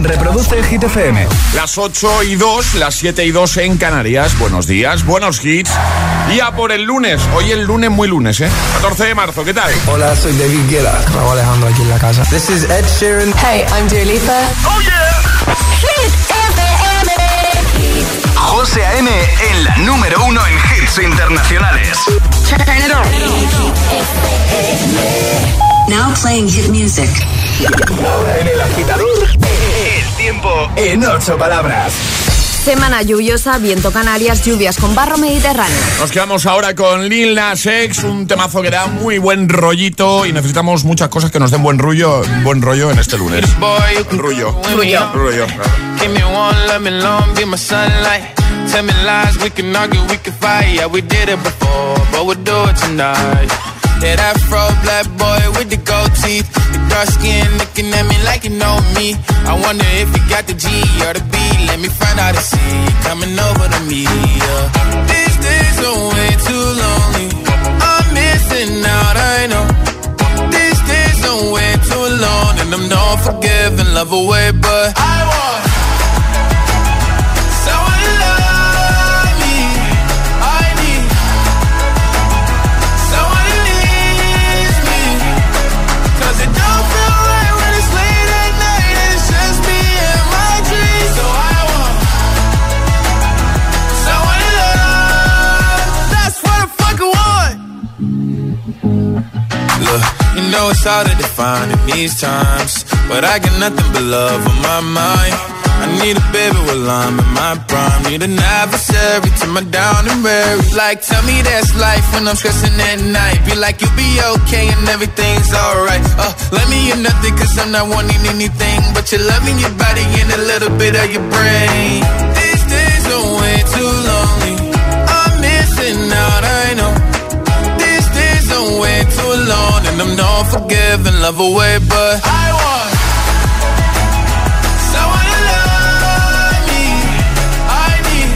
Reproduce Hit FM. Las 8:02, las 7:02 en Canarias. Buenos días, buenos hits. Y a por el lunes. Hoy el lunes, muy lunes, 14 de marzo, ¿qué tal? Hola, soy David Guetta. Raúl Alejandro aquí en la casa. This is Ed Sheeran. Hey, I'm Dua Lipa. ¡Oh, yeah! Hit FM. José A.M. en la número 1 en hits internacionales. Turn it on. Now playing hit music. Ahora en El Agitador, el tiempo en 8 palabras. Semana lluviosa, viento Canarias, lluvias con barro mediterráneo. Nos quedamos ahora con Lil Nas X, un temazo que da muy buen rollito y necesitamos muchas cosas que nos den buen rollo en este lunes. Rollo. Give me one, let me long, be my sunlight. Tell me lies, we can argue, we can fight. Yeah, we did it before, but we'll do it tonight. Yeah, that fro black boy with the gold teeth, the dark skin looking at me like you know me. I wonder if you got the G or the B. Let me find out and see you coming over to me. Yeah. These days are way too lonely. I'm missing out, I know. These days are way too long, and I'm not forgiving, love away, but I want someone to love me. I need someone who needs me. 'Cause it don't feel right when it's late at night and it's just me and my dreams. So I want someone to love. That's what I fucking want. Look, you know it's hard to define in these times, but I got nothing but love on my mind. I need a baby while I'm in my prime. Need an adversary to my down and weary. Like, tell me that's life when I'm stressing at night. Be like, you'll be okay and everything's alright. Let me in nothing 'cause I'm not wanting anything but your love and your body and a little bit of your brain. These days are way too lonely. I'm missing out, I know. These days are way too long, and I'm not forgiving, love away, but I want someone to love me. I need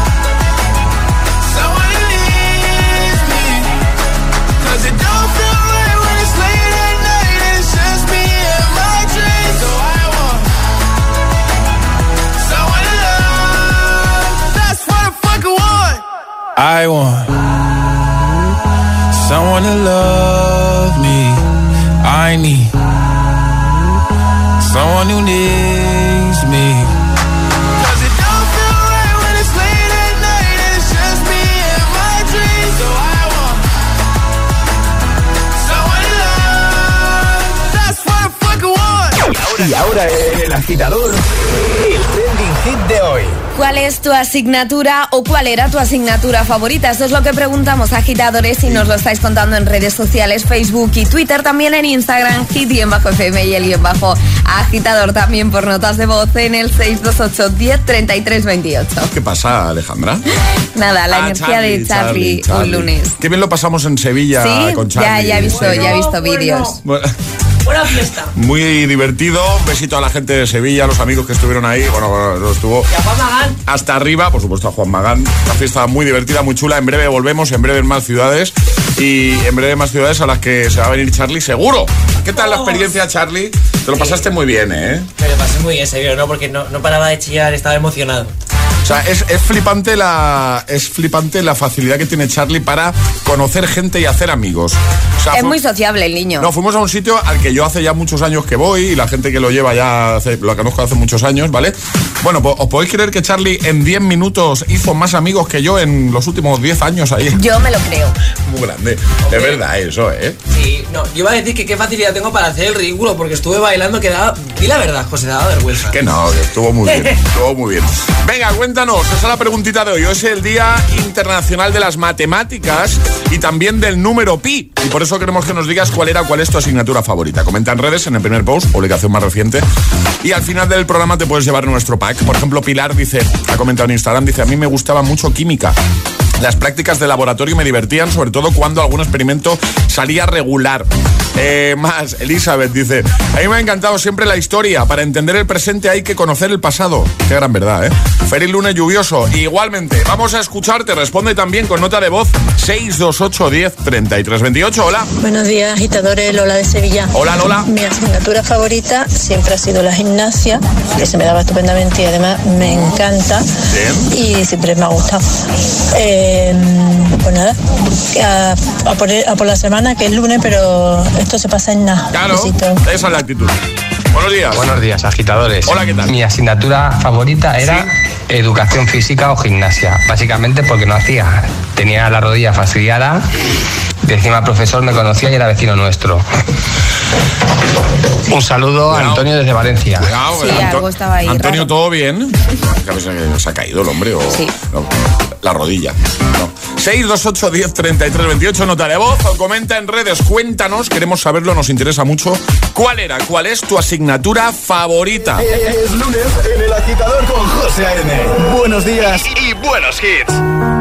someone who needs me. 'Cause it don't feel right when it's late at night and it's just me and my dreams. So I want someone to love. That's what I fucking want. I want someone to love me. I need someone who needs me. 'Cause it don't feel right when it's late at night and it's just me and my dreams. So I want someone to love. That's what I fucking want. Y ahora en El Agitador, el trending hit de hoy. ¿Cuál es tu asignatura o cuál era tu asignatura favorita? Esto es lo que preguntamos, agitadores, y nos lo estáis contando en redes sociales, Facebook y Twitter, también en Instagram, hit_fm y el _agitador, también por notas de voz en el 628 10 33 28. ¿Qué pasa, Alejandra? Nada, la energía de Charlie un lunes. Qué bien lo pasamos en Sevilla con Charlie. Ya he visto vídeos. Bueno. Buena fiesta. Muy divertido. Un besito a la gente de Sevilla, a los amigos que estuvieron ahí. Bueno, estuvo y a Juan Magán. Hasta arriba, por supuesto a Juan Magán. Una fiesta muy divertida, muy chula. En breve volvemos, en breve en más ciudades. Y en breve más ciudades a las que se va a venir Charlie, seguro. ¿Qué tal la experiencia, Charlie? Te lo pasaste muy bien, ¿eh? Me lo pasé muy bien, seguro, ¿no? Porque no paraba de chillar, estaba emocionado. O sea, es flipante la facilidad que tiene Charlie para conocer gente y hacer amigos. O sea, es muy sociable el niño. No, fuimos a un sitio al que yo hace ya muchos años que voy y la gente que lo lleva ya lo conozco hace muchos años, ¿vale? Bueno, pues os podéis creer que Charlie en 10 minutos hizo más amigos que yo en los últimos 10 años ahí. Yo me lo creo. Muy grande. Okay. Es verdad eso, ¿eh? Sí, no, yo iba a decir que qué facilidad tengo para hacer el ridículo porque estuve bailando que daba... Di la verdad, José, daba vergüenza. Que no, que estuvo muy bien, estuvo muy bien. Venga, cuéntanos, esa es la preguntita de hoy. Hoy es el Día Internacional de las Matemáticas y también del número pi. Y por eso queremos que nos digas cuál es tu asignatura favorita. Comenta en redes, en el primer post, publicación más reciente. Y al final del programa te puedes llevar nuestro pack. Por ejemplo, Pilar ha comentado en Instagram, dice, a mí me gustaba mucho química. Las prácticas de laboratorio me divertían, sobre todo cuando algún experimento salía regular. Más, Elizabeth dice: a mí me ha encantado siempre la historia. Para entender el presente hay que conocer el pasado. Qué gran verdad, ¿eh? Feliz lunes lluvioso. Igualmente, vamos a escucharte. Responde también con nota de voz 628 10 33 28. Hola. Buenos días, agitadores. Lola de Sevilla. Hola, Lola. Mi asignatura favorita siempre ha sido la gimnasia, que se me daba estupendamente y además me encanta. Bien. Y siempre me ha gustado. Pues nada, a por la semana, que es lunes, pero esto se pasa en nada. Claro, besito. esa es la actitud. Buenos días. Buenos días, agitadores. Hola, ¿qué tal? Mi asignatura favorita era educación física o gimnasia, básicamente porque no hacía. Tenía la rodilla fastidiada, y encima el profesor me conocía y era vecino nuestro. Un saludo a Antonio desde Valencia. Cuidado, Sí, algo estaba ahí Antonio, raro. ¿todo bien? ¿Se ha caído el hombre o...? Sí. No, la rodilla. No. 628 10 33 28, nota de voz o comenta en redes. Cuéntanos, queremos saberlo, nos interesa mucho. ¿Cuál es tu asignatura favorita? Es lunes en El Agitador con José A.M. Buenos días y buenos hits.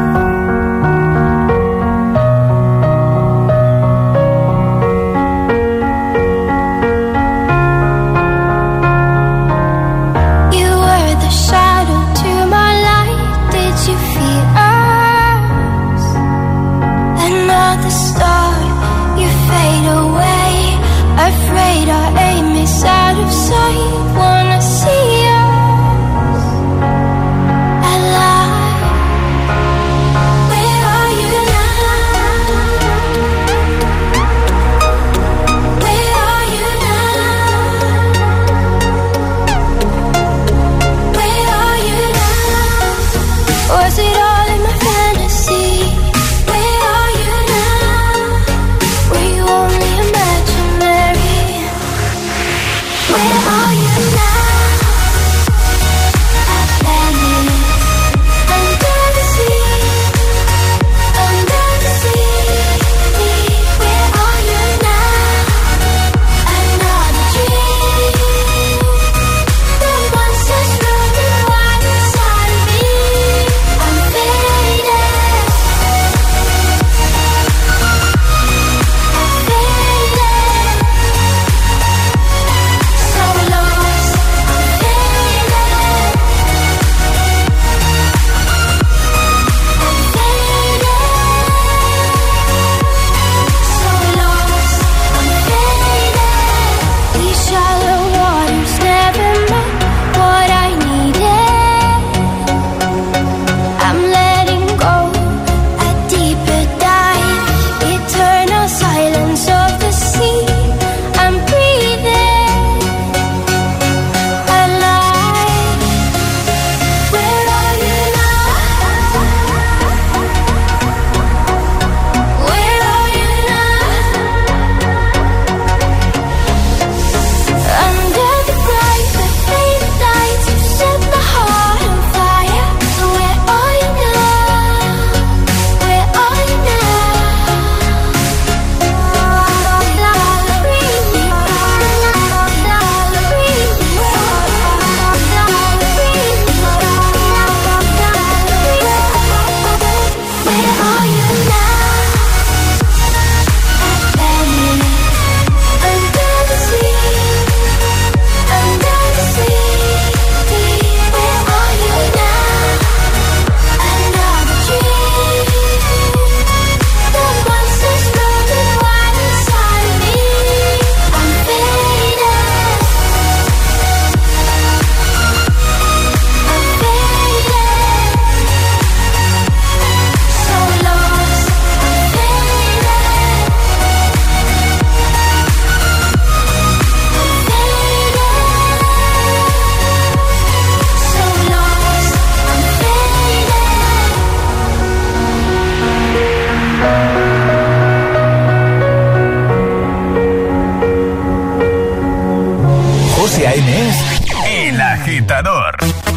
agitador.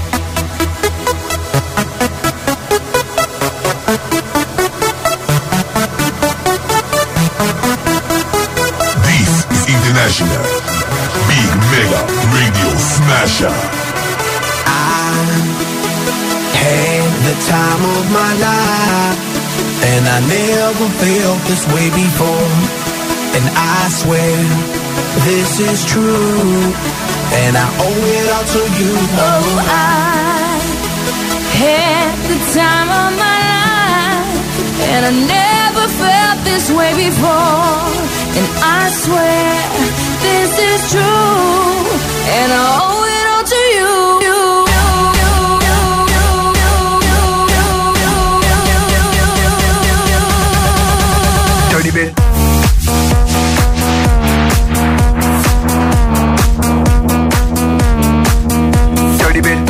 This is International Big Mega Radio Smasher. I had the time of my life, and I never felt this way before. and I swear this is true, and I owe it all to you. Oh, I had the time of my life, and I never felt this way before, and I swear this is true, and I owe it all to you. Dirty bit. Dirty bit.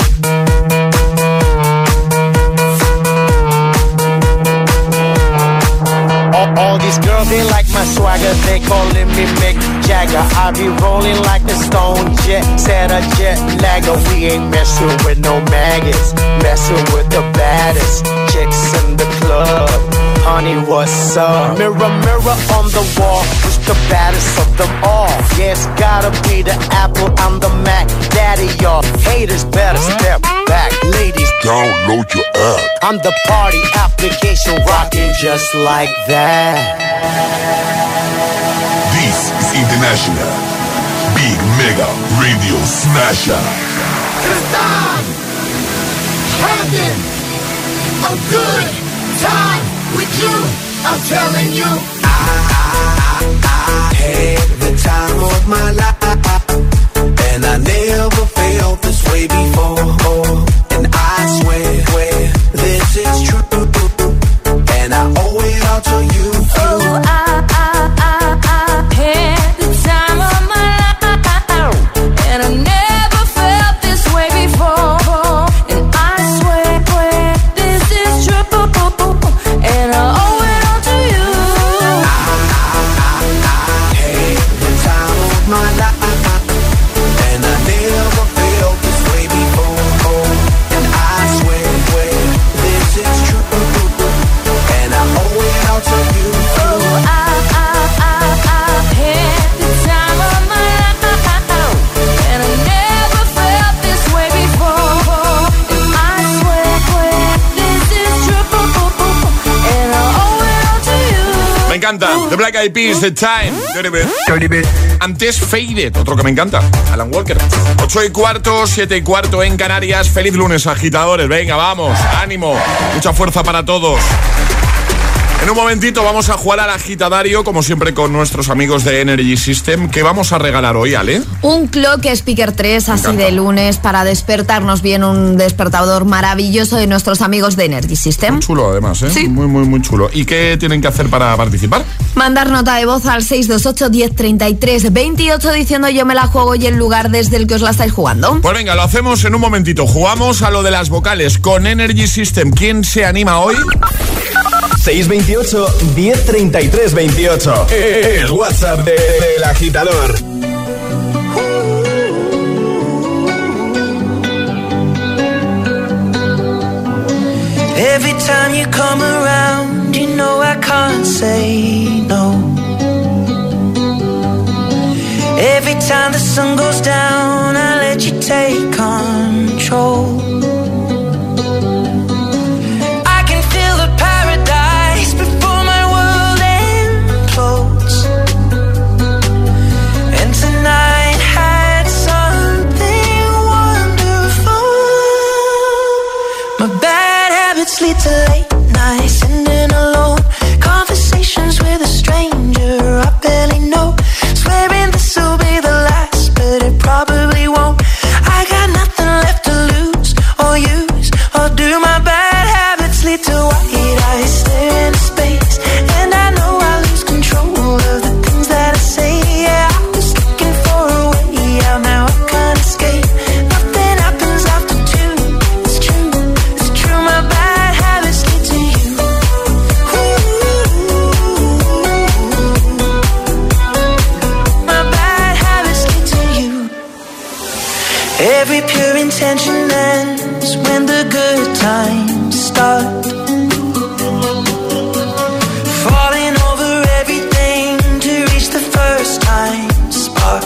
All these girls, they like my swagger, they calling me Mick Jagger. I be rolling like a stone jet, set a jet lagger. We ain't messing with no maggots, messing with the baddest chicks in the club. Honey, what's up? Mirror, mirror on the wall, who's the baddest of them all? Yeah, it's gotta be the Apple, I'm the Mac. Daddy, y'all haters better step back. Ladies, download your app. I'm the party application rocking just like that. This is International Big Mega Radio Smasher. Cause I'm having a good time with you. I'm telling you, I had the time of my life, and I never felt this way before. And I swear this is true, and I owe it all to you. Oh, I had the time of my life, and I never felt this way before. And I swear this is true, and I owe it all to you. I had the time of my life, and I never felt this way before. And I swear this is true, and I owe it all to you. Oh, I had the time of my life, and I never felt this way before. And I swear this is true, and I owe it all to you. Me encanta. The Black Eyed Peas, The Time. Dirty Bit. Dirty bit. Antes Faded, otro que me encanta, Alan Walker. 8:15, 7:15 en Canarias. Feliz lunes, agitadores. Venga, vamos, ánimo, mucha fuerza para todos. En un momentito vamos a jugar al agitadario, como siempre con nuestros amigos de Energy System. ¿Qué vamos a regalar hoy, Ale? Un Clock Speaker 3, así de lunes, para despertarnos bien, un despertador maravilloso de nuestros amigos de Energy System. Muy chulo, además, ¿eh? Sí. Muy, muy, muy chulo. ¿Y qué tienen que hacer para participar? Mandar nota de voz al 628 1033 28 diciendo yo me la juego y el lugar desde el que os la estáis jugando. Pues venga, lo hacemos en un momentito. Jugamos a lo de las vocales con Energy System. ¿Quién se anima hoy? 628 1033 28. El WhatsApp del agitador. Every time you come around, you know I can't say no. Every time the sun goes down, I let you take control. I can feel the paradise before my world implodes. And tonight had something wonderful. My bad habits lead to late nights, ending alone. Conversations with a stranger I barely know. Swearing this will be the last, but it probably won't. I got nothing left to lose or use, or do my bad habits lead to white eyes stare into space? And I know I lose control of the things that I say. Yeah, I was looking for a way out, now I can't escape. Nothing happens after two. It's true, my bad habits lead to you. My bad habits lead to you. Every pure intention ends when the good times start. Falling over everything to reach the first time spark.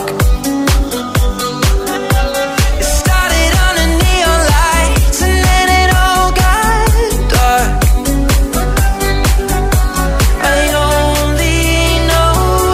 It started under neon lights and then it all got dark. I only know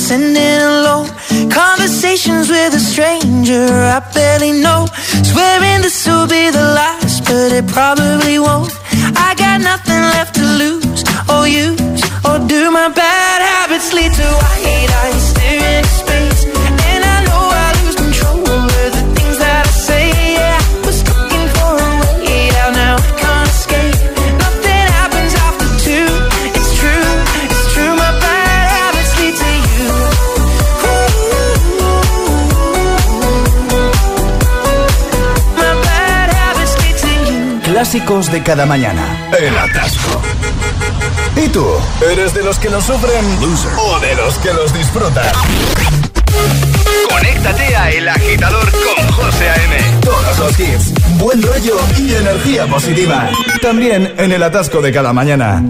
sending alone. Conversations with a stranger I barely know. Swearing this will be the last, but it probably won't. I got nothing left to lose or use, or do my bad habits lead to white eyes staring into space? And I know I lose control over the things that I say. Yeah, I was looking for a way out, now I can't escape. Nothing happens after two. It's true, my bad habits lead to you. My bad habits lead to you. Clásicos de cada mañana. El atasco. ¿Y tú? ¿Eres de los que los sufren o de los que los disfrutan? Conéctate a El Agitador con José A.M. Todos los hits, buen rollo y energía positiva. También en el atasco de cada mañana.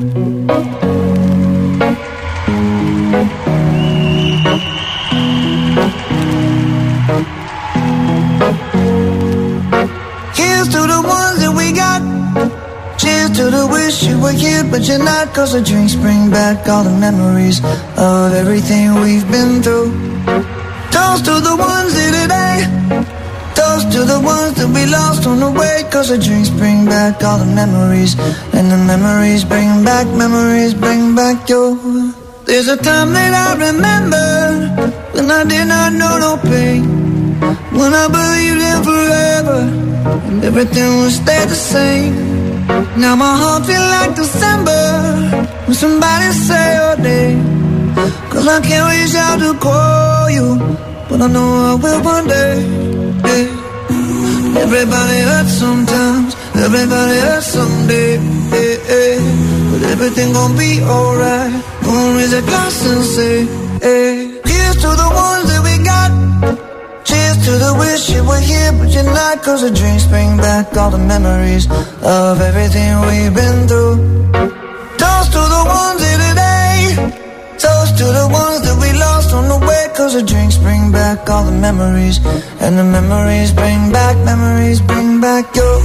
Here's to the ones that we got. Cheers to the wish you were here, but you're not. Cause the drinks bring back all the memories of everything we've been through. Toast to the ones here today. Toast to the ones that we lost on the way. Cause the drinks bring back all the memories. And the memories bring back your. There's a time that I remember when I did not know no pain. When I believed in forever and everything would stay the same. Now my heart feel like December when somebody say your name. Cause I can't reach out to call you, but I know I will one day. Yeah. Everybody hurts sometimes, everybody hurts someday. Yeah, yeah. But everything gon' be alright. Gonna raise a glass and say, hey. Here's to the ones that we got. Cheers to the wish you were here, but you're not. Cause the drinks bring back all the memories of everything we've been through. Toast to the ones here today. Toast to the ones that we lost on the way. Cause the drinks bring back all the memories. And the memories bring back your.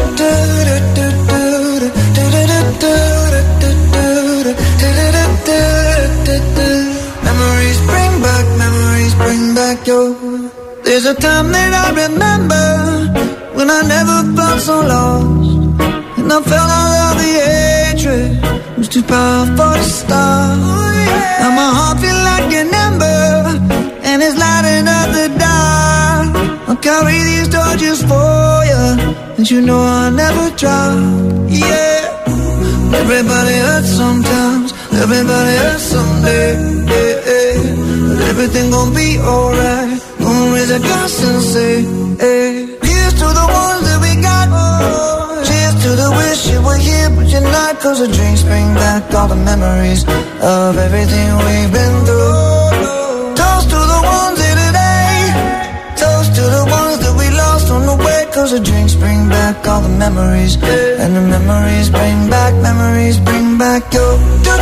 Memories bring back your. There's a time that I remember when I never felt so lost, and I felt all of the hatred was too powerful to stop. Now my heart feel like an ember, and it's lighting up the dark. I'll carry these torches for you, and you know I'll never drop. Yeah, everybody hurts sometimes, everybody hurts someday. Yeah, yeah. But everything gon' be alright. Gonna raise a glass and say, hey. Here's to the ones that we got. Cheers to the wish you were here, but you're not. Cause the drinks bring back all the memories of everything we've been through. Toast to the ones here today. Toast to the ones that we lost on the way. Cause the drinks bring back all the memories. And the memories bring back your.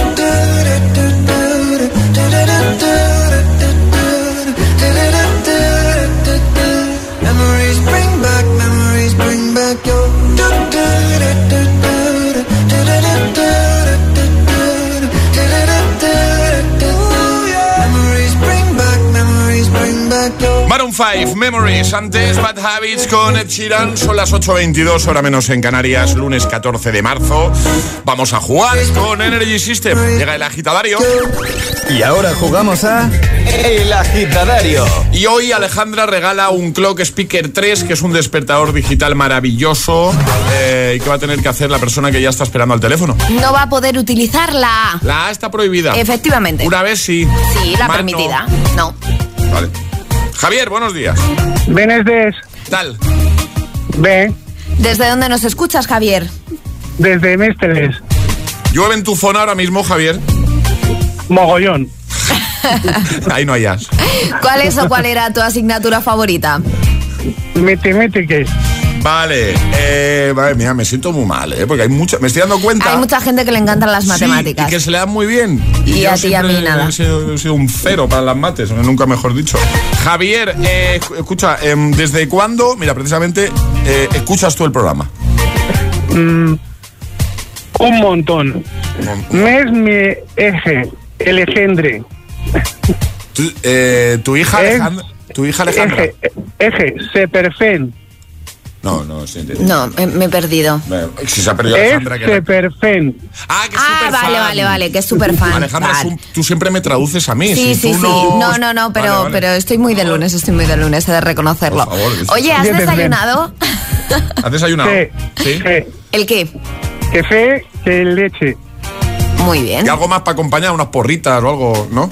Memories bring back your. Memories bring back your. Maroon 5, Memories. Antes Bad Habits con Ed Sheeran. Son las 8:22, hora menos en Canarias, lunes 14 de marzo. Vamos a jugar con Energy System. Llega el agitadario. Y ahora jugamos a El Agitadario. Y hoy Alejandra regala un Clock Speaker 3, que es un despertador digital maravilloso, y que va a tener que hacer la persona que ya está esperando al teléfono. No va a poder utilizar la A. La A está prohibida. Efectivamente. Una vez sí. Sí, la Más permitida. No. Vale. Javier, buenos días. Buenos días. ¿Qué tal? Bien. ¿Desde dónde nos escuchas, Javier? Desde Mésteles. ¿Llueve en tu zona ahora mismo, Javier? Mogollón. Ahí no hay as. ¿Cuál era tu asignatura favorita? Matemáticas. Vale, mira, me siento muy mal, porque hay mucha, me estoy dando cuenta. Hay mucha gente que le encantan las matemáticas. Sí, y que se le dan muy bien. Y a ti y a mí nada. He sido un cero para las mates, nunca mejor dicho. Javier, escucha, ¿desde cuándo, mira, precisamente, escuchas tú el programa? Un montón. Es mi eje, el engendre. ¿Tu hija Alejandra? ¿Tu hija Alejandra? Eje, Seperfen. No, sí entiendo. No, me he perdido. Si se ha perdido Alejandra. Seperfen. Que es súper fan. Vale, que es súper fan. Alejandra, vale. tú siempre me traduces a mí. Sí. No, pero estoy muy de lunes, he de reconocerlo. Por favor, oye, ¿has desayunado? ¿Has desayunado? Sí. ¿El qué? Café, que leche. Muy bien. ¿Y algo más para acompañar? ¿Unas porritas o algo? ¿No?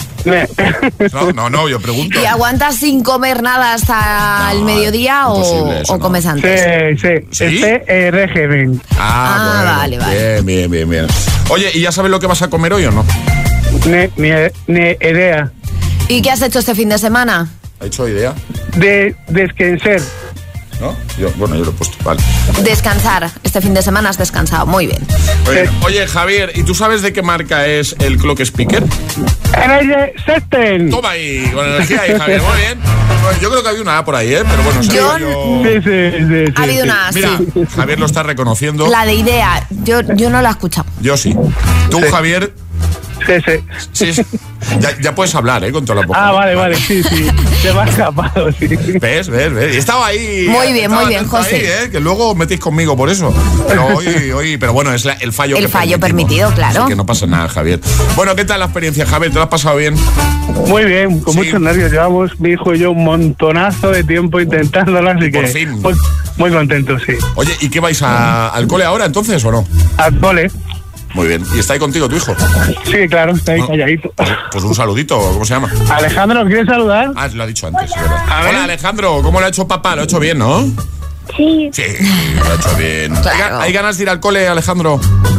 No, yo pregunto. ¿Y aguantas sin comer nada hasta el mediodía o comes antes? Sí. Régimen. Vale. Bien. Oye, ¿y ya sabes lo que vas a comer hoy o no? Ni idea. ¿Y qué has hecho este fin de semana? ¿Ha hecho idea? De descansar. ¿No? Yo lo he puesto, vale. Descansar. Este fin de semana has descansado. Muy bien. Oye, Javier, ¿y tú sabes de qué marca es el Clock Speaker? Energy System. Toma ahí, con energía ahí, Javier. Muy bien. Bueno, yo creo que había una A por ahí, pero bueno. Sí. Ha habido una A, Mira, sí. Javier lo está reconociendo. La de idea. Yo no la he escuchado. Yo sí. Tú, Javier... Sí. Ya puedes hablar, con toda la boca. Vale, sí. Se me ha escapado, sí. ¿Ves? Y estaba ahí. Muy bien, José. Ahí, que luego metéis conmigo por eso. Pero hoy, pero bueno, es el fallo. El fallo permitido, claro. Así que no pasa nada, Javier. Bueno, ¿qué tal la experiencia, Javier? ¿Te lo has pasado bien? Muy bien, con muchos nervios. Llevamos, mi hijo y yo, un montonazo de tiempo intentándolo, así que... Por fin. Muy contento, sí. Oye, ¿y qué vais al cole ahora, entonces, o no? Al cole. Muy bien. ¿Y está ahí contigo tu hijo? Sí, claro, está ahí calladito. Pues un saludito, ¿cómo se llama? Alejandro, ¿quieres saludar? Lo ha dicho antes, ¿verdad? Hola, Alejandro, ¿cómo lo ha hecho papá? Lo ha hecho bien, ¿no? Sí. Sí, lo ha hecho bien. Claro. ¿Hay ganas de ir al cole, Alejandro?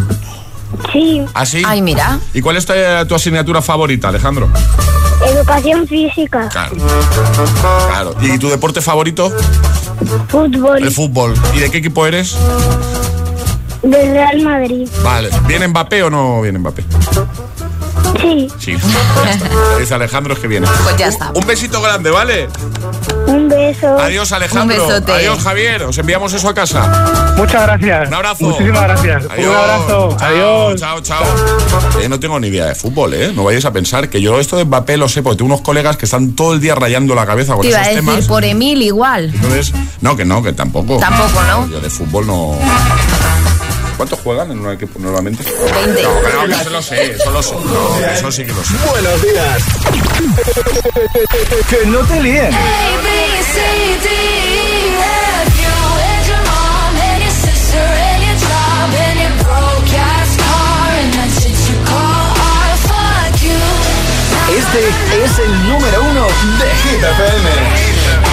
Sí. ¿Ah, sí? Ay, mira. ¿Y cuál es tu asignatura favorita, Alejandro? Educación física. Claro. ¿Y tu deporte favorito? Fútbol. El fútbol. ¿Y de qué equipo eres? Del Real Madrid. Vale. ¿Viene Mbappé o no viene Mbappé? Sí. Ya está. Dice Alejandro es que viene. Pues ya está. Un besito grande, ¿vale? Un beso. Adiós, Alejandro. Un besote. Adiós, Javier. Os enviamos eso a casa. Muchas gracias. Un abrazo. Muchísimas gracias. Adiós. Un abrazo. Adiós. Chao. No tengo ni idea de fútbol, No vayáis a pensar que yo esto de Mbappé lo sé porque tengo unos colegas que están todo el día rayando la cabeza con Te iba esos a decir, temas. por Emil igual. Entonces, que tampoco. Tampoco, ¿no? Yo de fútbol no... ¿Cuántos juegan en un equipo normalmente? 20. No, eso lo sé. No, eso sí que lo sé. Buenos días. Que no te líen. Este es el número 1 de Hit FM.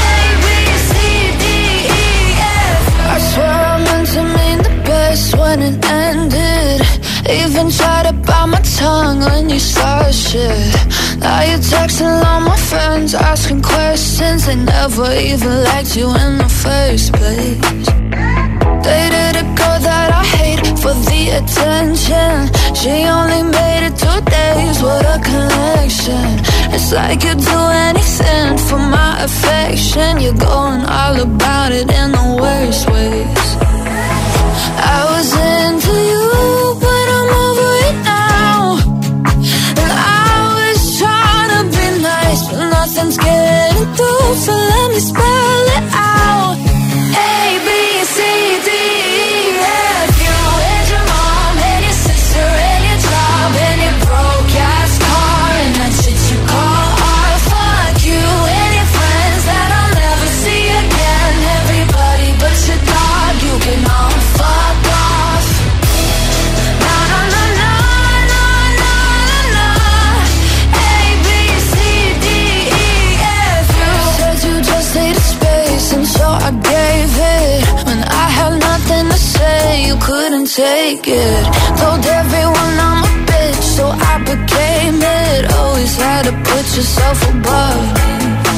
When it ended, even tried to bite my tongue when you started shit. Now you're texting all my friends, asking questions. They never even liked you in the first place. Dated a girl that I hate for the attention. She only made it 2 days, what a connection. It's like you'd do anything for my affection. You're going all about it in the worst ways. I was into you, but I'm over it now. And I was trying to be nice, but nothing's getting through. So let me spell it out. A, B, C, D, E, F. You and your mom and your sister and your job and your broke ass car and that shit you call art. Fuck you and your friends that I'll never see again. Everybody but your dog, you can all fuck off. Na na na na na na na. A B C D E F. You said you just needed space, and so I gave it. When I had nothing to say, you couldn't take it. Told everyone I'm a bitch, so I became it. Always had to put yourself above me.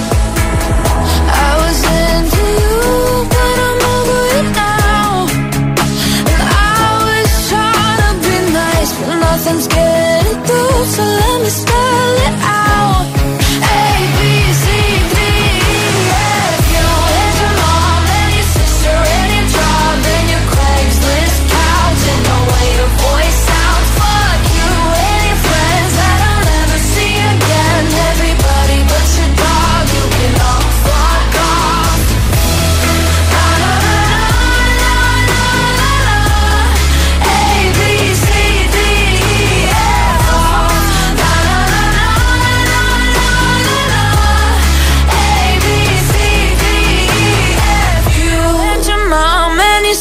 I was into you, but I'm over it now. And I was trying to be nice, but nothing's getting through. So let me spell it out. A, B, C, D, E, F. You and your mom and your sister and your job and your Craigslist couch and the way your voice sounds. Fuck you and your friends that I'll never see again. Everybody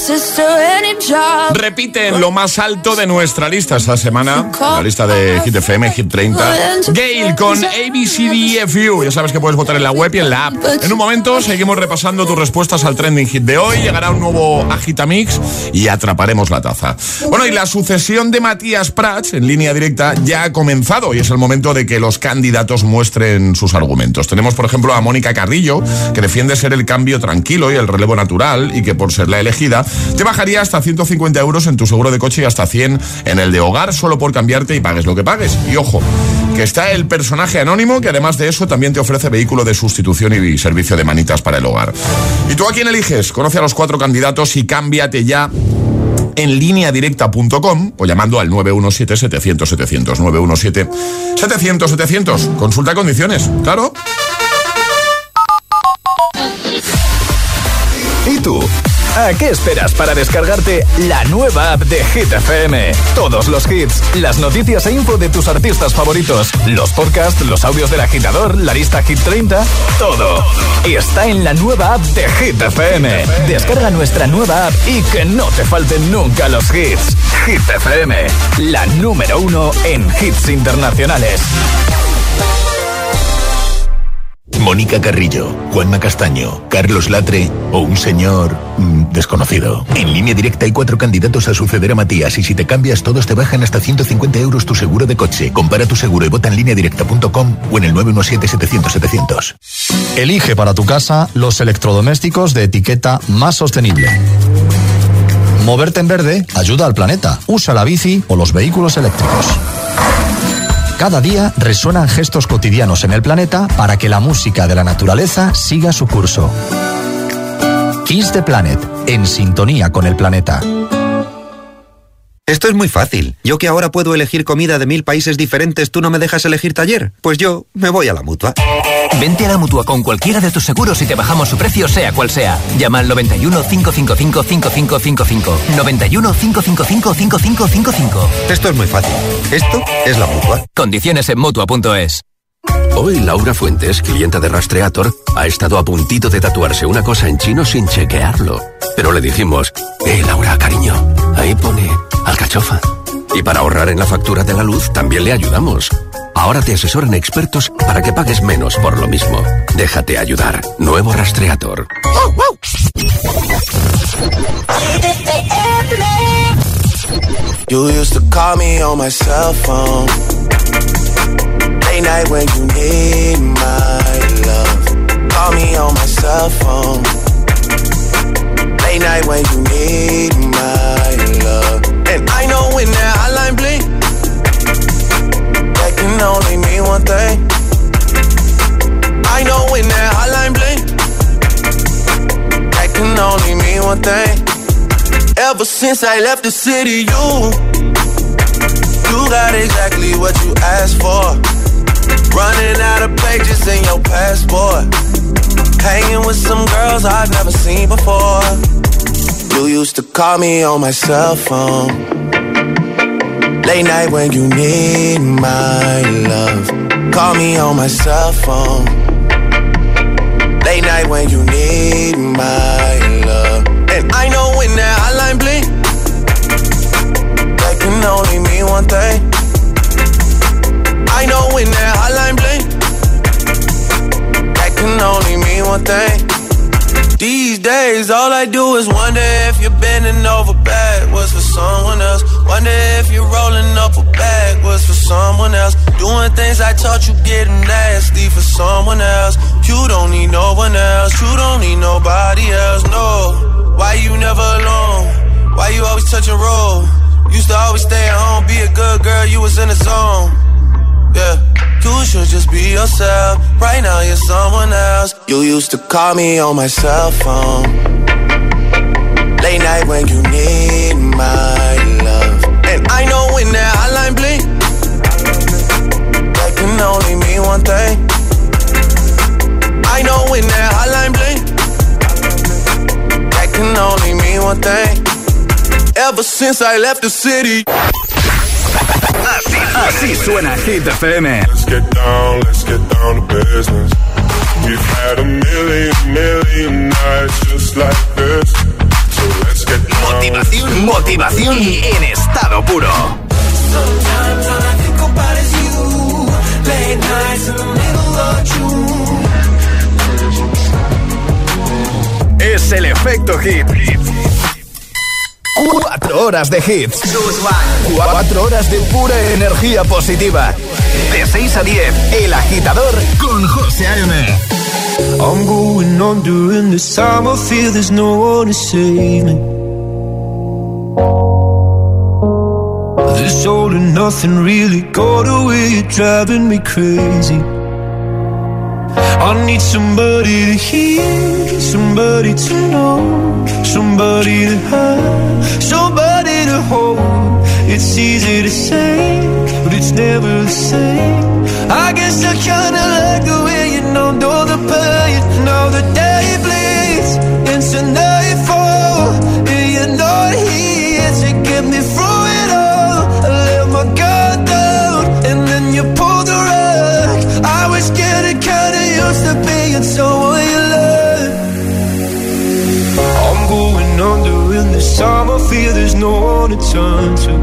sister, any job. Repite en lo más alto de nuestra lista esta semana, la lista de Hit FM, Hit 30. Gale con ABCDFU. Ya sabes que puedes votar en la web y en la app. En un momento seguimos repasando tus respuestas al trending hit de hoy. Llegará un nuevo Agitamix y atraparemos la taza. Bueno, y la sucesión de Matías Prats en línea directa ya ha comenzado y es el momento de que los candidatos muestren sus argumentos. Tenemos, por ejemplo, a Mónica Carrillo, que defiende ser el cambio tranquilo y el relevo natural y que por ser la elegida te bajaría hasta 150 euros en tu seguro de coche y hasta 100 en el de hogar solo por cambiarte y pagues lo que pagues. Y ojo, que está el personaje anónimo que además de eso también te ofrece vehículo de sustitución y servicio de manitas para el hogar. ¿Y tú a quién eliges? Conoce a los 4 candidatos y cámbiate ya en lineadirecta.com o llamando al 917-700-700. 917-700-700. Consulta condiciones, claro. ¿Y tú? ¿A qué esperas para descargarte la nueva app de Hit FM? Todos los hits, las noticias e info de tus artistas favoritos, los podcasts, los audios del agitador, la lista Hit 30, todo. Y está en la nueva app de Hit FM. Descarga nuestra nueva app y que no te falten nunca los hits. Hit FM, la número 1 en hits internacionales. Mónica Carrillo, Juanma Castaño, Carlos Latre o un señor desconocido. En línea directa hay 4 candidatos a suceder a Matías y si te cambias todos te bajan hasta 150 euros tu seguro de coche. Compara tu seguro y vota en lineadirecta.com o en el 917-700-700. Elige para tu casa los electrodomésticos de etiqueta más sostenible. Moverte en verde ayuda al planeta. Usa la bici o los vehículos eléctricos. Cada día resuenan gestos cotidianos en el planeta para que la música de la naturaleza siga su curso. Kiss the Planet, en sintonía con el planeta. Esto es muy fácil. Yo que ahora puedo elegir comida de 1000 países diferentes, ¿tú no me dejas elegir taller? Pues yo me voy a la Mutua. Vente a la Mutua con cualquiera de tus seguros y te bajamos su precio sea cual sea. Llama al 91 555 5555. 91 555 5555. Esto es muy fácil. Esto es la Mutua. Condiciones en Mutua.es. Hoy Laura Fuentes, clienta de Rastreator, ha estado a puntito de tatuarse una cosa en chino sin chequearlo. Pero le dijimos, Laura, cariño, ahí pone alcachofa. Y para ahorrar en la factura de la luz también le ayudamos. Ahora te asesoran expertos para que pagues menos por lo mismo. Déjate ayudar. Nuevo Rastreator. You used to call me on my cell phone. Late night when you need my love. Call me on my cell phone. Late night when you need my love. And I know when that hotline bling, that can only mean one thing. I know when that hotline bling, that can only mean one thing. Ever since I left the city, you got exactly what you asked for. Running out of pages in your passport. Hanging with some girls I've never seen before. You used to call me on my cell phone. Late night when you need my love. Call me on my cell phone. Late night when you need my love. And I know when that hotline bling, that can only mean one thing. I know when that hotline bling, that can only mean one thing. These days, all I do is wonder if you're bending over backwards for someone else. Wonder if you're rolling up a backwards for someone else. Doing things I taught you, getting nasty for someone else. You don't need no one else. You don't need nobody else, no. Why you never alone? Why you always touch and roll? Used to always stay at home, be a good girl, you was in the zone. Yeah, you should just be yourself. Right now you're someone else. You used to call me on my cell phone. Late night when you need my love. And I know when that hotline bling, that can only mean one thing. I know when that hotline bling, that can only mean one thing. Ever since I left the city. Así suena Hit FM. Let's get down to business. We've had a million nights just like this. So let's get Motivación en estado puro. Es el efecto hit. 4 horas de hits. 4 horas de pura energía positiva. De 6 a 10, El Agitador con José A.M. I'm going on during this time. I feel there's no one to save me. This all and nothing really got away. You're driving me crazy. I need somebody to hear, somebody to know, somebody to have, somebody to hold. It's easy to say, but it's never the same. I guess I kinda like the way you know the pain. Now the day bleeds into nightfall, and you're not here to get me through it all. I let my guard down, and then you pulled the rug. I was getting kinda used to being someone you love. I'm going under in this time. I feel there's no one to turn to.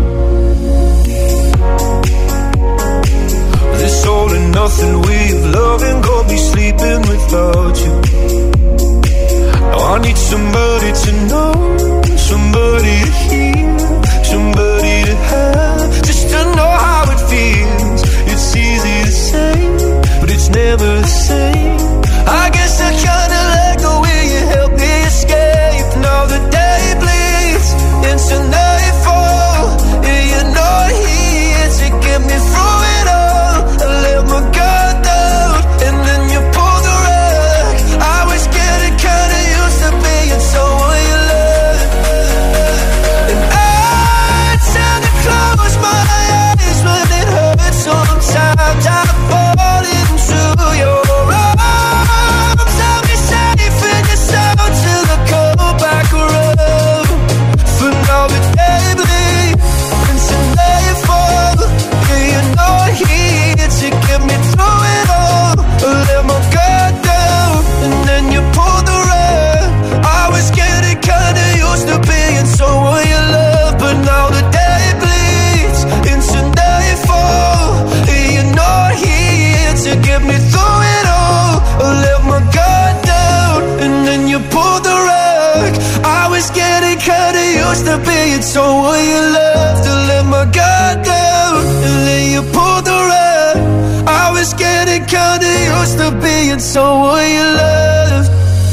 This all and nothing way of loving got me sleeping without you. Now I need somebody to know, somebody to hear, somebody to have, just to know how it feels. It's easy to say, but it's never the same. I guess I kinda like the way you help me escape. Now the day bleeds into nightfall, and you're not here to get me through it all. I let my guard down, and then you pulled the rug. I was getting kinda used to being someone you love. And I tend to close my eyes when it hurts. Sometimes I fall into your arms. I'll be safe in your sound till I come back around. For now the day bleeds into nightfall, and you're not here to get me through it all. I let my guard down, and then you pulled the rug. I was getting kinda used to being someone you love, but now the day bleeds into nightfall, and you're not here to get me through it all. I let my guard down, and then you pulled the rug. I was getting kinda used to being someone you love. To let my guard down, and then you pulled the rug. I was getting kinda used to being someone you love.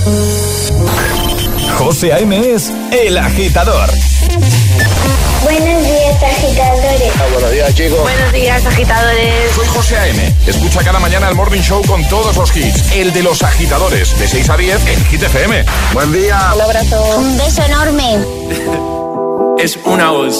José A.M. es El Agitador. Buenos días, agitadores. Buenos días, chicos. Buenos días, agitadores. Soy José A.M. Escucha cada mañana el Morning Show con todos los hits. El de los agitadores, de 6 a 10 en Hit FM. Buen día. Un abrazo. Un beso enorme. Es una voz.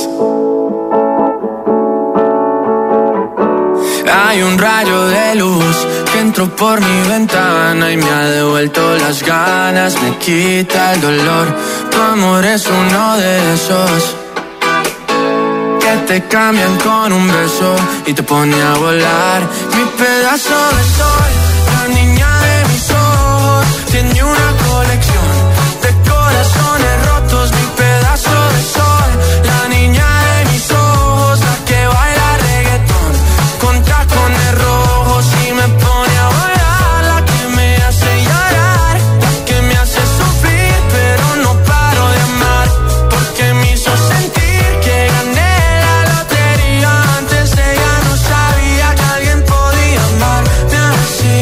Hay un rayo de luz que entró por mi ventana y me ha devuelto las ganas, me quita el dolor. Tu amor es uno de esos que te cambian con un beso y te pone a volar. Mi pedazo de sol, la niña de mis ojos, tiene una colección de corazones rotos. Mi pedazo de sol, la niña de mis ojos, la que baila reggaetón con tacones rojos y me pone a volar. La que me hace llorar, la que me hace sufrir, pero no paro de amar, porque me hizo sentir que gané la lotería. Antes ella no sabía que alguien podía amarme así.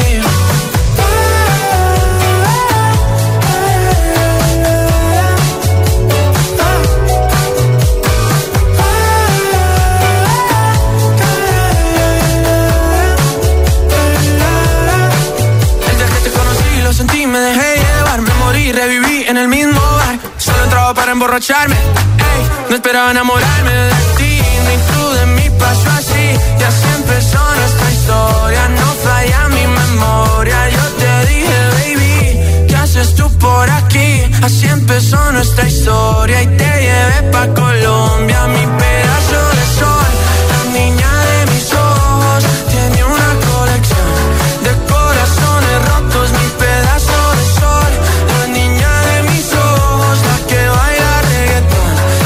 Desde que te conocí lo sentí, me dejé llevar, me morí, reviví en el mismo bar. Solo entraba para emborracharme, ey, no esperaba enamorarme de ti, ni tú de mí, pasó así. Y así empezó nuestra historia, no falla mi memoria. Yo te dije, baby, ¿qué haces tú por aquí? Así empezó nuestra historia y te llevé pa' Colombia. Mi pedazo de sol, la niña de mis ojos, tiene una colección de corazones rotos. Mi pedazo de sol, la niña de mis ojos, la que baila reggaetón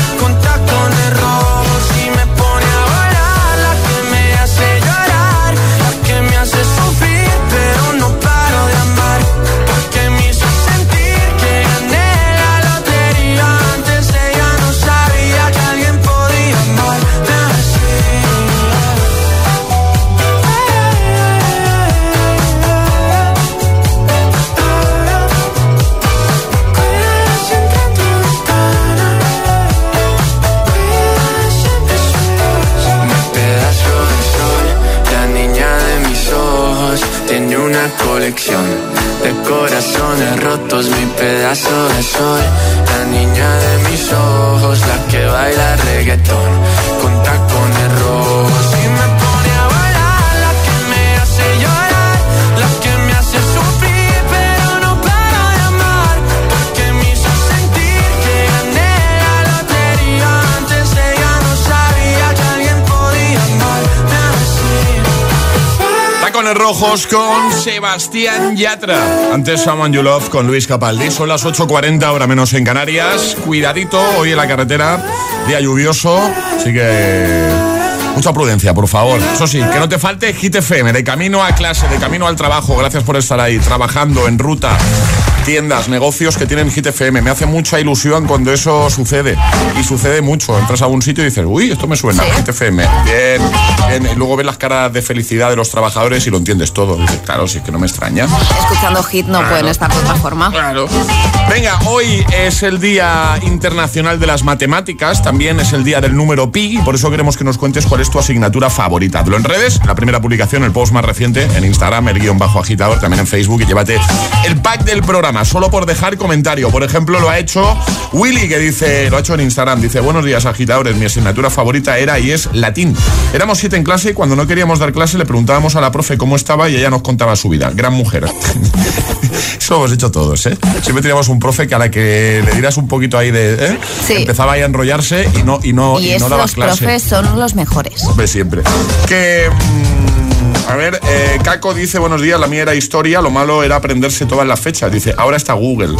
sos mi pedazo de sol, la niña de mis ojos, la que baila reggaetón con tacones rojos y me pone a bailar, la que me hace llorar, la que me hace sufrir, pero no paro de amar, porque me hizo sentir que gané la lotería. Antes ella no sabía que alguien podía amarme así. Tacones rojos con Sebastián Yatra. Antes Someone You Love con Luis Capaldi. Son las 8:40, hora menos en Canarias. Cuidadito hoy en la carretera, día lluvioso, así que mucha prudencia, por favor. Eso sí, que no te falte Hit FM, de camino a clase, de camino al trabajo. Gracias por estar ahí, trabajando en ruta. Tiendas, negocios que tienen Hit FM. Me hace mucha ilusión cuando eso sucede. Y sucede mucho. Entras a un sitio y dices, uy, esto me suena, ¿sí? Hit FM. Bien, bien. Y luego ves las caras de felicidad de los trabajadores y lo entiendes todo. Y dices, claro, si es que no me extraña. Escuchando Hit no pueden estar de otra forma. Claro. Venga, hoy es el Día Internacional de las Matemáticas. También es el día del número pi. Y por eso queremos que nos cuentes cuál es tu asignatura favorita. Hazlo en redes, la primera publicación, el post más reciente, en Instagram, el _agitador, también en Facebook. Y llévate el pack del programa, solo por dejar comentario. Por ejemplo, lo ha hecho Willy, que dice, lo ha hecho en Instagram, dice: buenos días, agitadores, mi asignatura favorita era y es latín. Éramos 7 en clase y cuando no queríamos dar clase le preguntábamos a la profe cómo estaba y ella nos contaba su vida. Gran mujer. Eso lo hemos hecho todos, ¿eh? Siempre teníamos un profe que a la que le dieras un poquito ahí de... Sí. Empezaba ahí a enrollarse y no dabas clase. Los profes son los mejores. Hombre, siempre. Que... A ver, Caco dice, buenos días, la mía era historia, lo malo era aprenderse todas las fechas. Dice, ahora está Google.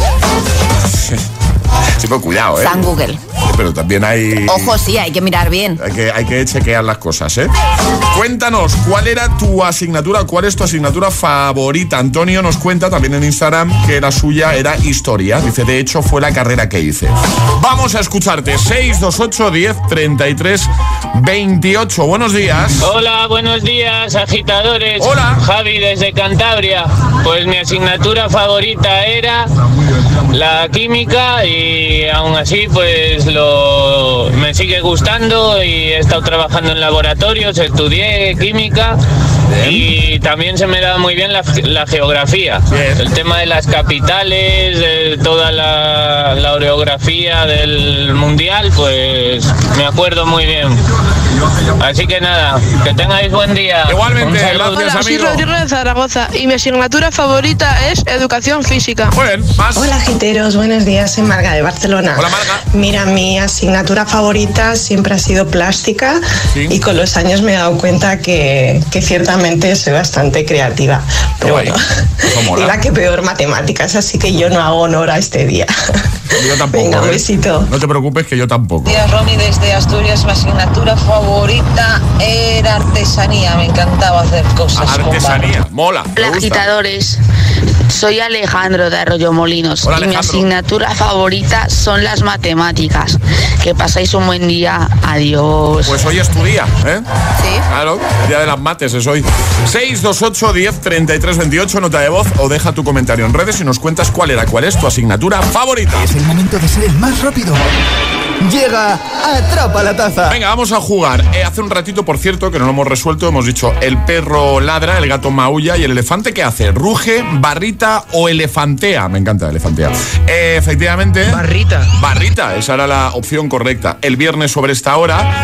Sí, pero cuidado, ¿eh? Está en Google. Pero también hay... Ojo, sí, hay que mirar bien. Hay que chequear las cosas, ¿eh? Cuéntanos, ¿cuál era tu asignatura? ¿Cuál es tu asignatura favorita? Antonio nos cuenta también en Instagram que la suya era historia. Dice, de hecho, fue la carrera que hice. Vamos a escucharte. 628 10 33 28. Buenos días. Hola, buenos días, agitadores. Hola. Javi, desde Cantabria. Pues mi asignatura favorita era la química y aún así pues me sigue gustando y he estado trabajando en laboratorios, estudié química. Bien. Y también se me da muy bien la geografía. Bien. El tema de las capitales, de toda la orografía del mundial, pues me acuerdo muy bien. Así que nada, que tengáis buen día. Igualmente, gracias, hola, amigo. Soy Rodrigo de Zaragoza y mi asignatura favorita es educación física. Bueno, más. Hola, giteros, buenos días, soy Marga de Barcelona. Hola, Marga. Mira, mi asignatura favorita siempre ha sido plástica. ¿Sí? Y con los años me he dado cuenta que ciertamente soy bastante creativa. Pero bueno, y la que peor matemáticas, así que yo no hago honor a este día. Yo tampoco. Venga, un besito. No te preocupes, que yo tampoco. Buenos días, Romy, desde Asturias. Mi asignatura favorita era artesanía. Me encantaba hacer cosas. Artesanía, mola. Hola, agitadores. Soy Alejandro de Arroyo Molinos. Hola, y mi asignatura favorita son las matemáticas. Que pasáis un buen día. Adiós. Pues hoy es tu día, ¿eh? Sí. Claro, el día de las mates es hoy. 628 10 33 28, nota de voz o deja tu comentario en redes y nos cuentas cuál es tu asignatura favorita. Es el momento de ser el más rápido. Llega Atrapa la Taza. Venga, vamos a jugar. Hace un ratito, por cierto, que no lo hemos resuelto, hemos dicho el perro ladra, el gato maulla y el elefante ¿qué hace? ¿Ruge, barrita o elefantea? Me encanta elefantea. Efectivamente. Barrita, esa era la opción correcta. El viernes sobre esta hora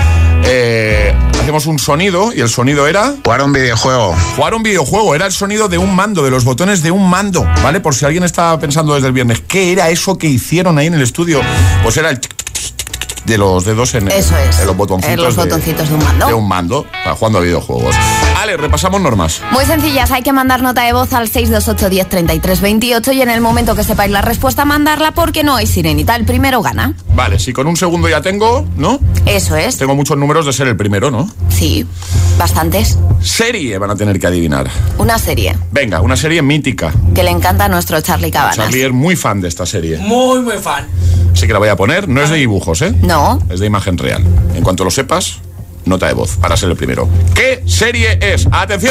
hacemos un sonido y el sonido era... Jugar un videojuego, era el sonido de un mando, de los botones de un mando, ¿vale? Por si alguien estaba pensando desde el viernes, ¿qué era eso que hicieron ahí en el estudio? Pues era el... de los dedos en los botoncitos, de un mando. De un mando, jugando a videojuegos. Ale, repasamos normas. Muy sencillas, hay que mandar nota de voz al 628 10 33 28 y en el momento que sepáis la respuesta, mandarla porque no hay sirenita. El primero gana. Vale, si con un segundo ya tengo, ¿no? Eso es. Tengo muchos números de ser el primero, ¿no? Sí, bastantes. Serie van a tener que adivinar. Una serie. Venga, una serie mítica. Que le encanta a nuestro Charlie Cabanas. Charlie es muy fan de esta serie. Muy, muy fan. Así que la voy a poner, no es de dibujos, ¿eh? No. Es de imagen real. En cuanto lo sepas, nota de voz para ser el primero. ¿Qué serie es? ¡Atención!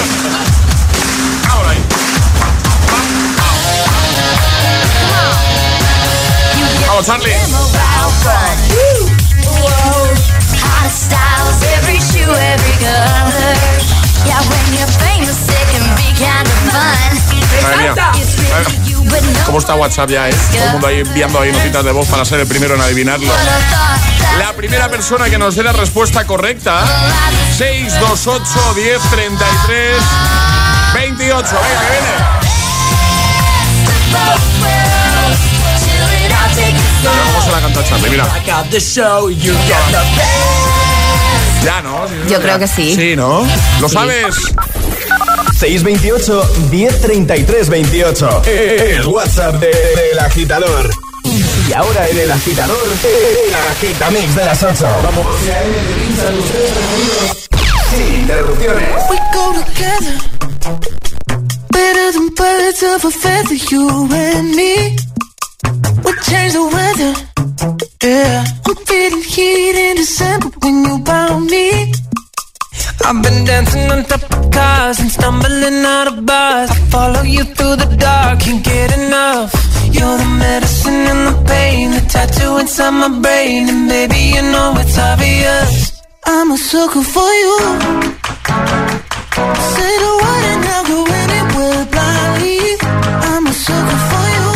Ahora ahí. Vamos, Charlie. Madre mía. ¿Cómo respuesta a WhatsApp ya, ¿eh? Todo el mundo ahí enviando ahí notitas de voz para ser el primero en adivinarlo. La primera persona que nos dé la respuesta correcta, 628 10 33 28. Venga, que viene. Vamos a la canta Charlie, mira. Ya, ¿no? Yo creo que sí. Sí, ¿no? ¿Lo sabes? 628 1033 28. El WhatsApp del agitador. Y ahora en el agitador, el agitamix de las 8. Vamos. Sin interrupciones. We go together, better than birds of a feather, you and me. We change the weather, yeah. I'm feeling heat in December when you found me. I've been dancing on top of cars and stumbling out of bars. I follow you through the dark, can't get enough. You're the medicine and the pain, the tattoo inside my brain. And baby, you know it's obvious, I'm a sucker for you. Say the word and I'll go anywhere blindly. I'm a sucker for you,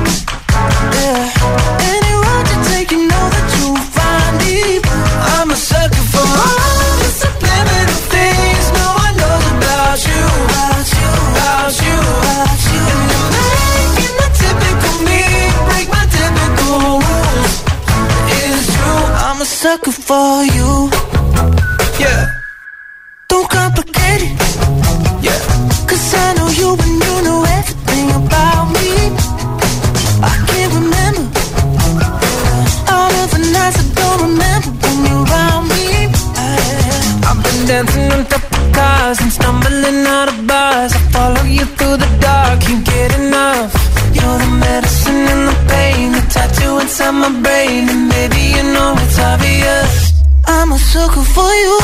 yeah. Any road you take, you know that you'll find me. I'm a sucker for all the subliminal things no one knows about you, about you, about you, about you. And you're making the typical me break my typical rules. It's true, I'm a sucker for you, yeah. Don't complicate it, yeah. 'Cause I know you and you know everything about me. I can't remember all of the nights I don't remember when you're around me. I've been dancing on top of cars and stumbling out of bars. I follow you through the dark, can't get enough. You're the medicine and the pain, the tattoo inside my brain. And baby, you know it's obvious, I'm a sucker for you.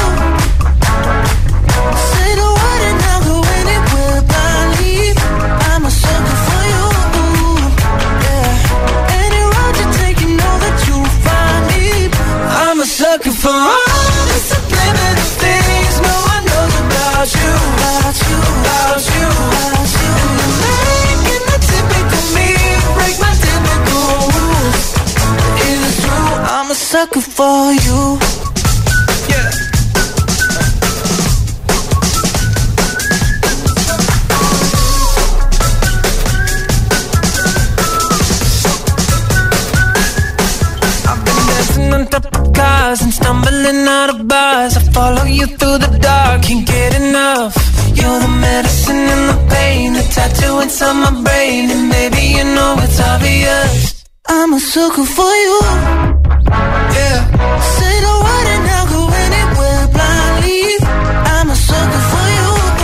Say the word and I'll go anywhere blindly. I'm a sucker for you, yeah. Any road you take, you know that you'll find me. I'm a sucker for all the subliminal things no one knows about you, about you, about you, about you. And you're making the typical me break my typical rules. It's true, I'm a sucker for you, yeah. On top of cars and stumbling out of bars. I follow you through the dark, can't get enough. You're the medicine and the pain, the tattoo inside my brain. And baby, you know it's obvious, I'm a sucker for you, yeah. Say the word and I'll go anywhere blindly. I'm a sucker for you,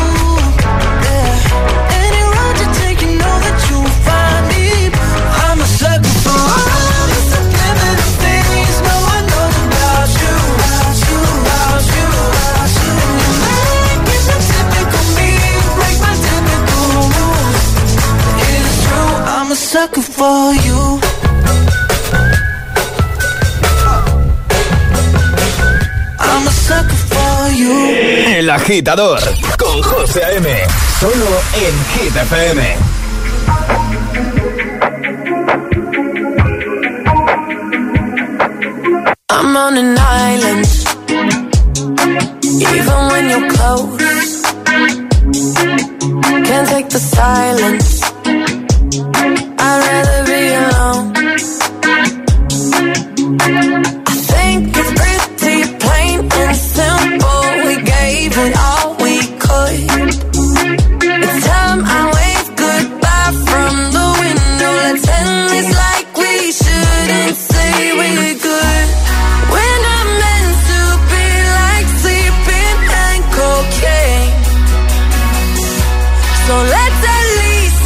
yeah. Any road you take, you know that you'll find me. I'm a sucker for all the subliminal things no one knows about you, about you, about you, about you. And you're making the typical me break my typical rules. It's true, I'm a sucker for you. I'm a sucker for you. El agitador con José A.M. Solo en Hit FM. I'm on an island, even when you're close. Can't take the silence, I'd rather be alone. I think it's pretty plain and simple, we gave it all we could. It's time I wave goodbye from the window. Let's end this like we shouldn't say we're good. We're not meant to be like sleeping and cocaine, so let's at least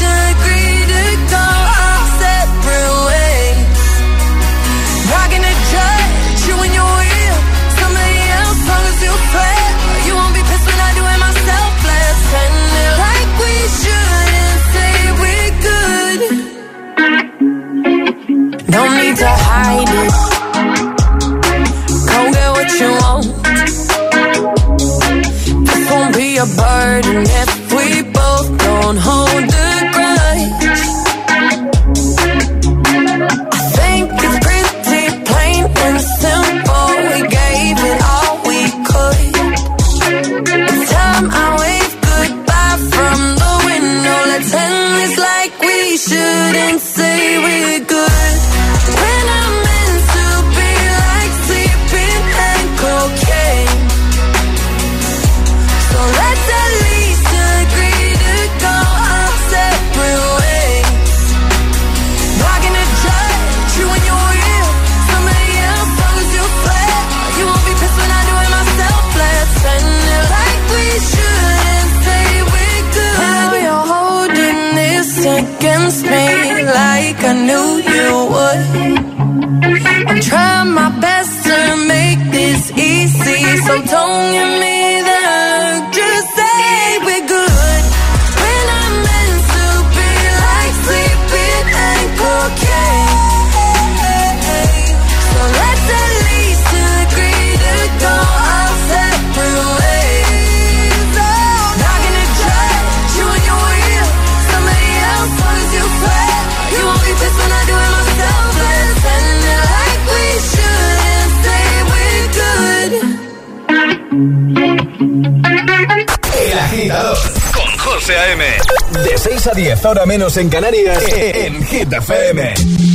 El Agitador con José A.M. De 6 a 10, hora menos en Canarias, en Hit FM.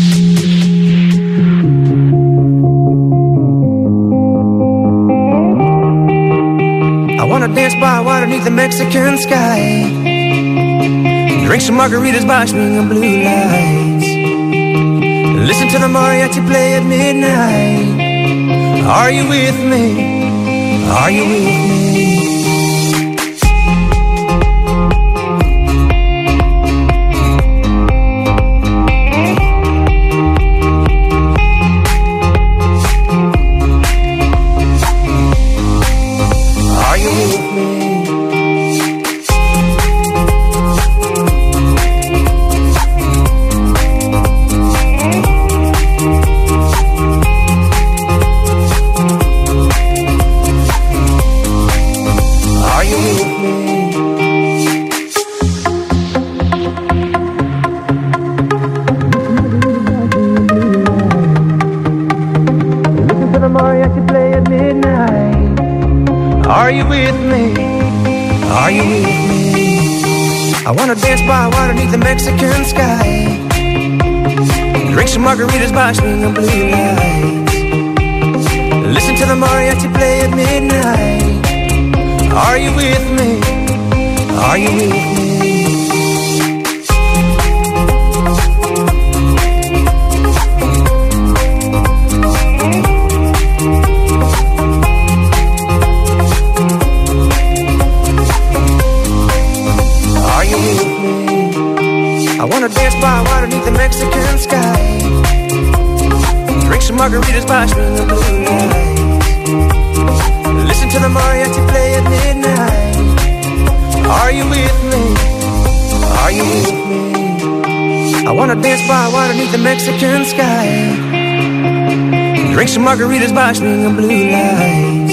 I wanna dance by water beneath the Mexican sky. Drink some margaritas by swinging blue lights. Listen to the mariachi play at midnight. Are you with me? Are you with me? Are you with me? Are you with me? I wanna dance by water beneath the Mexican sky. Drink some margaritas by swinging blue lights. Listen to the mariachi play at midnight. Are you with me? Are you with me? I wanna dance by water beneath the Mexican sky. Drink some margaritas by swinging blue lights. Listen to the mariachi play at midnight. Are you with me? Are you with me? I wanna dance by water beneath the Mexican sky. Drink some margaritas by swinging blue lights.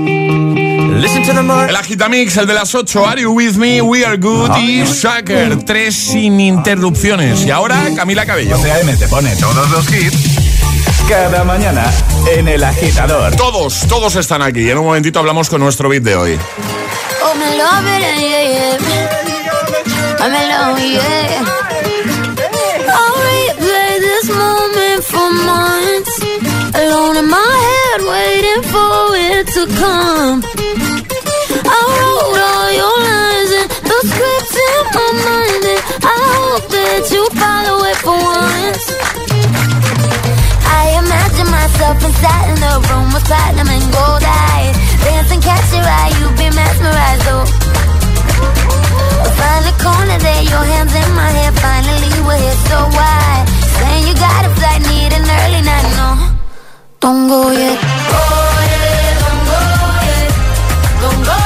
El Agitamix, el de las 8, Are You With Me, We Are Good y Shaker, 3 sin interrupciones. Y ahora Camila Cabello. AM te pone todos los hits cada mañana en El Agitador. Todos están aquí. En un momentito hablamos con nuestro beat de hoy. Oh, me love it, yeah, yeah. I'm alone, yeah. I'll replay this moment for months. Alone in my head, waiting for it to come. I wrote all your lines and the scripts in my mind, and I hope that you follow it for once. I imagine myself inside in the room with platinum and gold eyes, dancing, catch your eye, you've been mesmerized, oh. Find the corner there, your hands in my hair, finally we're here, so why? Saying you got a flight, need an early night, no, don't go yet. Oh yeah, don't go yet, don't go.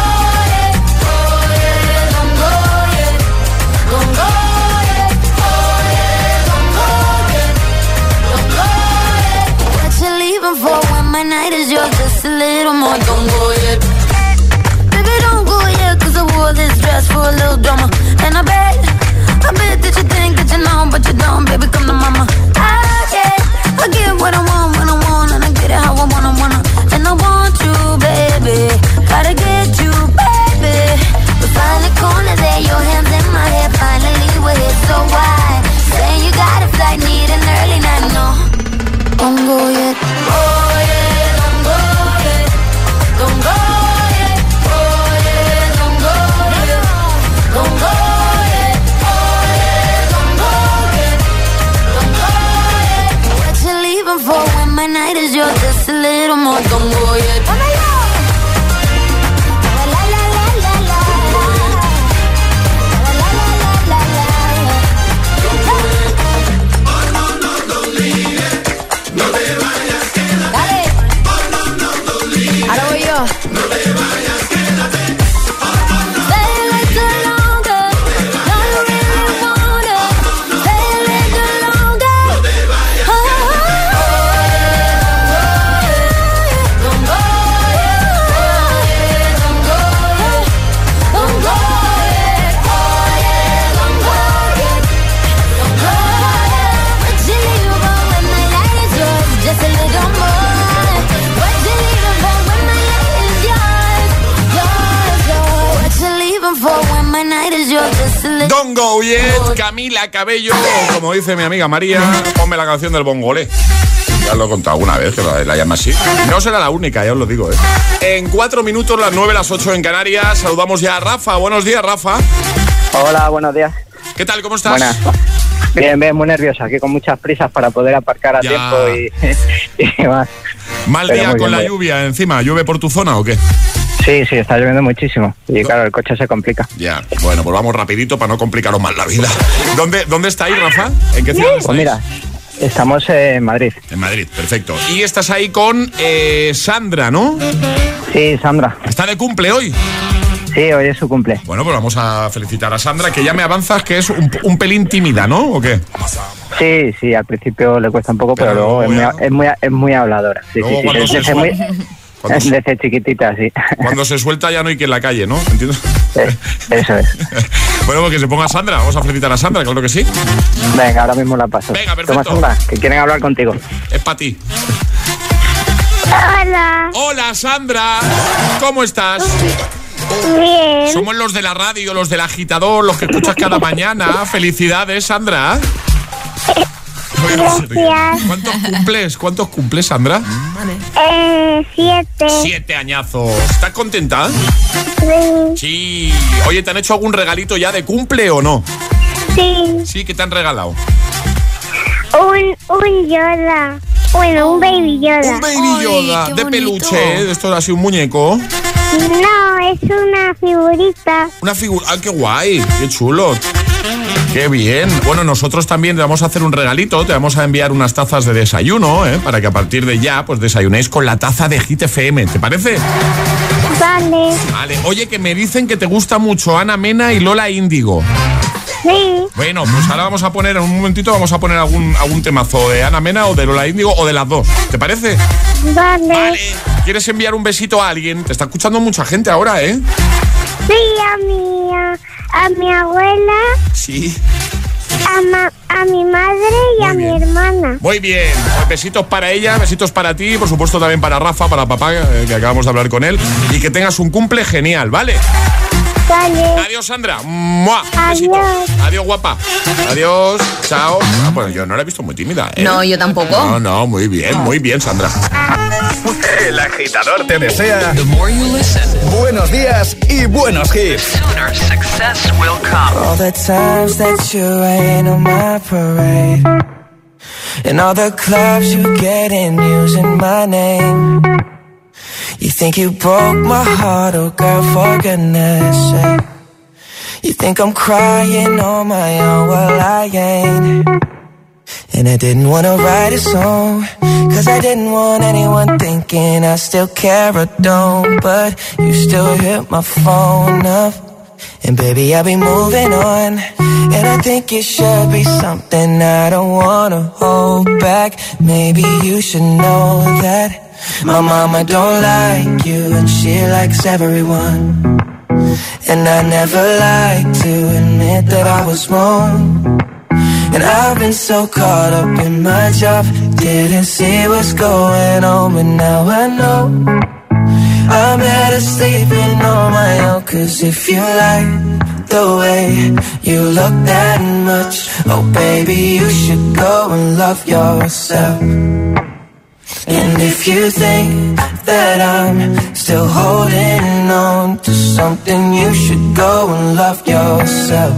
For when my night is yours, just a little more. Don't go yet, baby, don't go yet, 'cause I wore this dress for a little drama. And I bet that you think that you know, but you don't, baby, come to mama. I get what I want when I want, and I get it how I wanna. And I want you, baby, gotta get you, baby. We find the corner there, your hands in my hair, finally we're here, so why? Saying you got a flight, need an early night, no, don't go yet. Oh yeah, don't go yet, don't go yet. Oh yeah, don't go yet, don't go yet. Oh yeah, don't go yet, don't go yet. What you leaving for when my night is yours? Just a little more, don't go yet. No te vayas, quédate. Stay a little longer. No, you really wanna. Stay a little longer. No te vayas, quédate. Don't go, Don't Go Yet, Camila Cabello, como dice mi amiga María, ponme la canción del bongolé. Ya lo he contado alguna vez, que la llama así. No será la única, ya os lo digo, En 4 minutos, las 9, las 8 en Canarias. Saludamos ya a Rafa. Buenos días, Rafa. Hola, buenos días. ¿Qué tal? ¿Cómo estás? Buenas. Bien, muy nervioso. Aquí con muchas prisas para poder aparcar a tiempo y más. Mal día con la lluvia encima. ¿Llueve por tu zona o qué? Sí, está lloviendo muchísimo. Y claro, el coche se complica. Ya, bueno, pues vamos rapidito para no complicaros más la vida. ¿Dónde estáis, Rafa? ¿En qué ciudad estáis? Pues mira, estamos en Madrid. En Madrid, perfecto. Y estás ahí con Sandra, ¿no? Sí, Sandra. ¿Está de cumple hoy? Sí, hoy es su cumple. Bueno, pues vamos a felicitar a Sandra, que ya me avanzas que es un pelín tímida, ¿no? ¿O qué? Sí, al principio le cuesta un poco, pero luego es muy habladora. Sí, desde chiquitita, sí. Cuando se suelta ya no hay quien la calle, ¿no? ¿Entiendes? Eso es. Bueno, pues que se ponga Sandra. Vamos a felicitar a Sandra, claro que sí. Venga, ahora mismo la paso. Venga, perfecto. Toma, Sandra, que quieren hablar contigo. Es para ti. Hola. Hola, Sandra. ¿Cómo estás? Bien. Somos los de la radio, los del agitador, los que escuchas cada mañana. Felicidades, Sandra. Gracias. ¿Cuántos cumples, Sandra? 7. 7 añazos. ¿Estás contenta? Sí. Sí. Oye, ¿te han hecho algún regalito ya de cumple o no? Sí. Sí, ¿qué te han regalado? Un Yoda. Bueno, un Baby Yoda. Un Baby Yoda. De peluche, esto es así un muñeco. No, es una figurita. Una figura. ¡Ah, qué guay! ¡Qué chulo! ¡Qué bien! Bueno, nosotros también te vamos a hacer un regalito. Te vamos a enviar unas tazas de desayuno, para que a partir de ya, pues desayunéis con la taza de Hit FM. ¿Te parece? Vale. Oye, que me dicen que te gusta mucho Ana Mena y Lola Índigo. Sí. Bueno, pues ahora vamos a poner, en un momentito, algún temazo de Ana Mena o de Lola Índigo o de las dos. ¿Te parece? Vale. ¿Quieres enviar un besito a alguien? Te está escuchando mucha gente ahora, ¿eh? Sí, a mi abuela. Sí. A mi madre y a mi hermana. Muy bien. Besitos para ella, besitos para ti y por supuesto también para Rafa, para papá, que acabamos de hablar con él. Y que tengas un cumple genial, ¿vale? Vale. Adiós, Sandra. ¡Mua! Besito. Adiós, guapa. Adiós. Chao. Bueno, yo no la he visto muy tímida, ¿eh? No, yo tampoco. No, muy bien, Sandra. El agitador te desea buenos días y buenos hits. All the times that you rain on my parade, and all the clubs you get in using my name. You think you broke my heart, oh girl, for goodness sake. You think I'm crying on my own, well I ain't. And I didn't wanna write a song, cause I didn't want anyone thinking I still care or don't. But you still hit my phone up, and baby I'll be moving on. And I think it should be something I don't wanna hold back. Maybe you should know that my mama don't like you, and she likes everyone. And I never like to admit that I was wrong. And I've been so caught up in my job, didn't see what's going on, but now I know I'm better sleeping on my own. Cause if you like the way you look that much, oh baby, you should go and love yourself. And if you think that I'm still holding on to something, you should go and love yourself.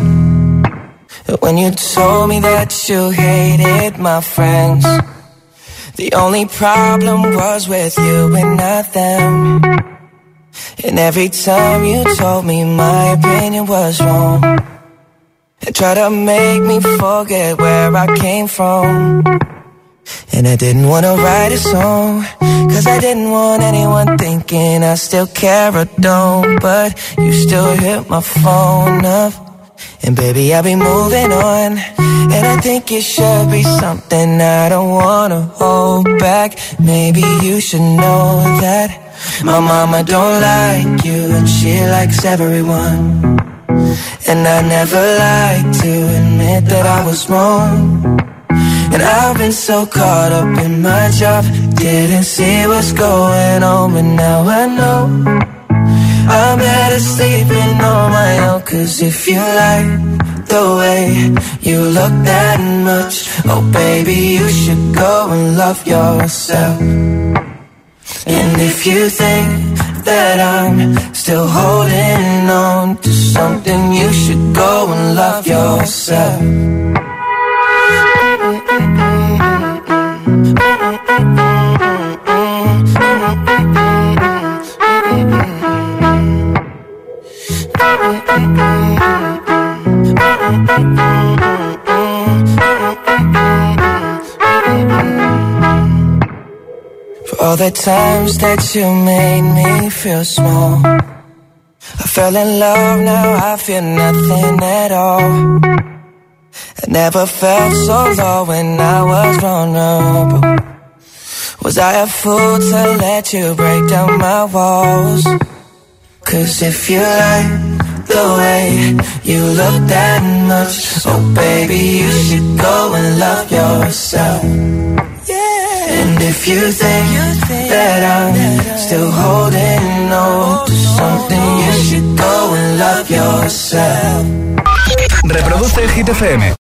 When you told me that you hated my friends, the only problem was with you and not them. And every time you told me my opinion was wrong, and tried to make me forget where I came from. And I didn't want to write a song, cause I didn't want anyone thinking I still care or don't. But you still hit my phone up, and baby I'll be moving on. And I think it should be something I don't wanna hold back. Maybe you should know that my mama don't like you, and she likes everyone. And I never like to admit that I was wrong. And I've been so caught up in my job, didn't see what's going on, but now I know I'm better sleeping on my own. Cause if you like the way you look that much. Oh baby, you should go and love yourself. And if you think that I'm still holding on to something, you should go and love yourself. For all the times that you made me feel small, I fell in love, now I feel nothing at all. I never felt so low when I was vulnerable. Was I a fool to let you break down my walls? Cause if you like the way you look that much, oh baby, you should go and love yourself. And if you think that I'm still holding on to something, you should go and love yourself. Reproduce Hit FM.